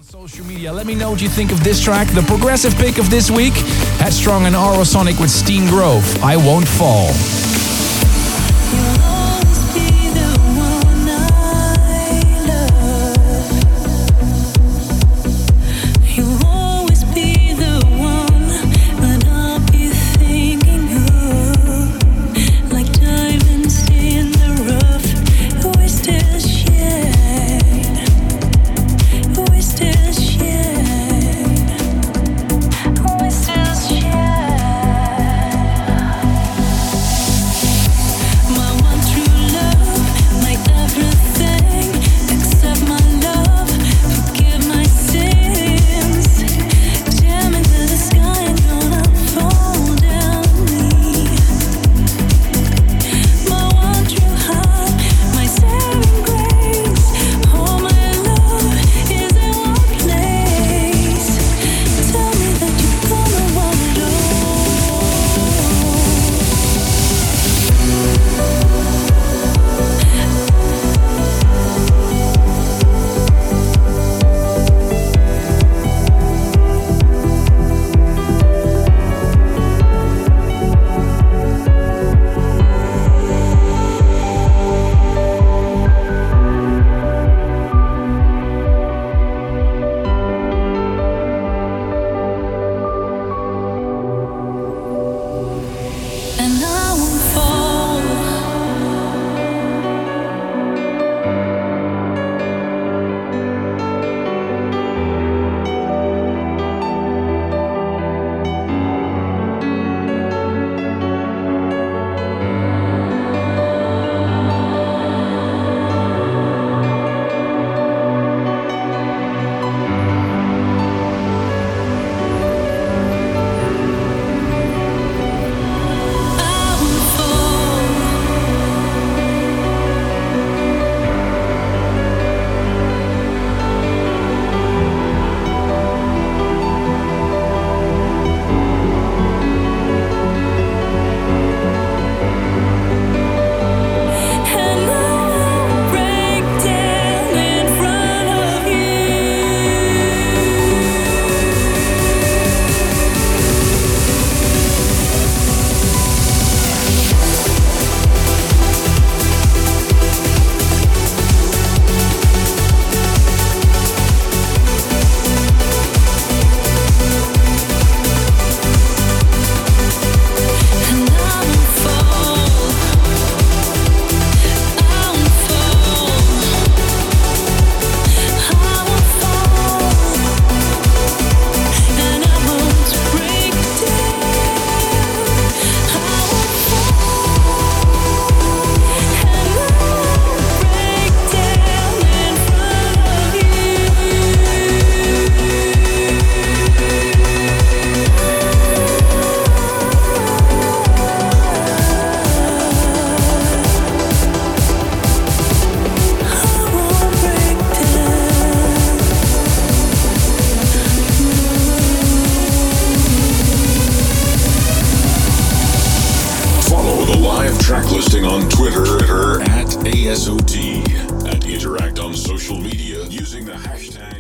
Social media. Let me know what you think of this track. The progressive pick of this week, Headstrong and Aurosonic with Steen Grove, I Won't Fall. Track listing on Twitter at ASOT and interact on social media using the hashtag